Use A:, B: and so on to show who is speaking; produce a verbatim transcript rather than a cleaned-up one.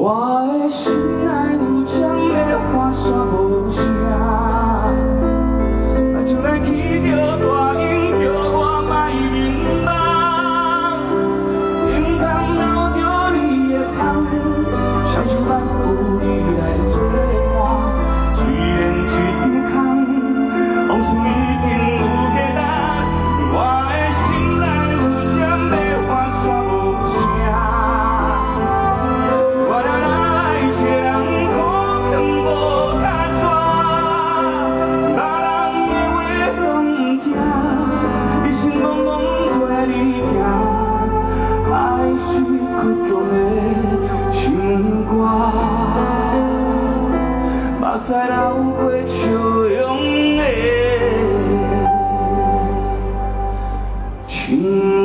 A: 我的心內有針的花煞無聲，就來去着大音叫我莫迷茫，因通留着你的香，雙手咱有你來作伴，雖然一空，往事已經有價值。我的心內有針的花煞無聲。目屎流過笑容的情。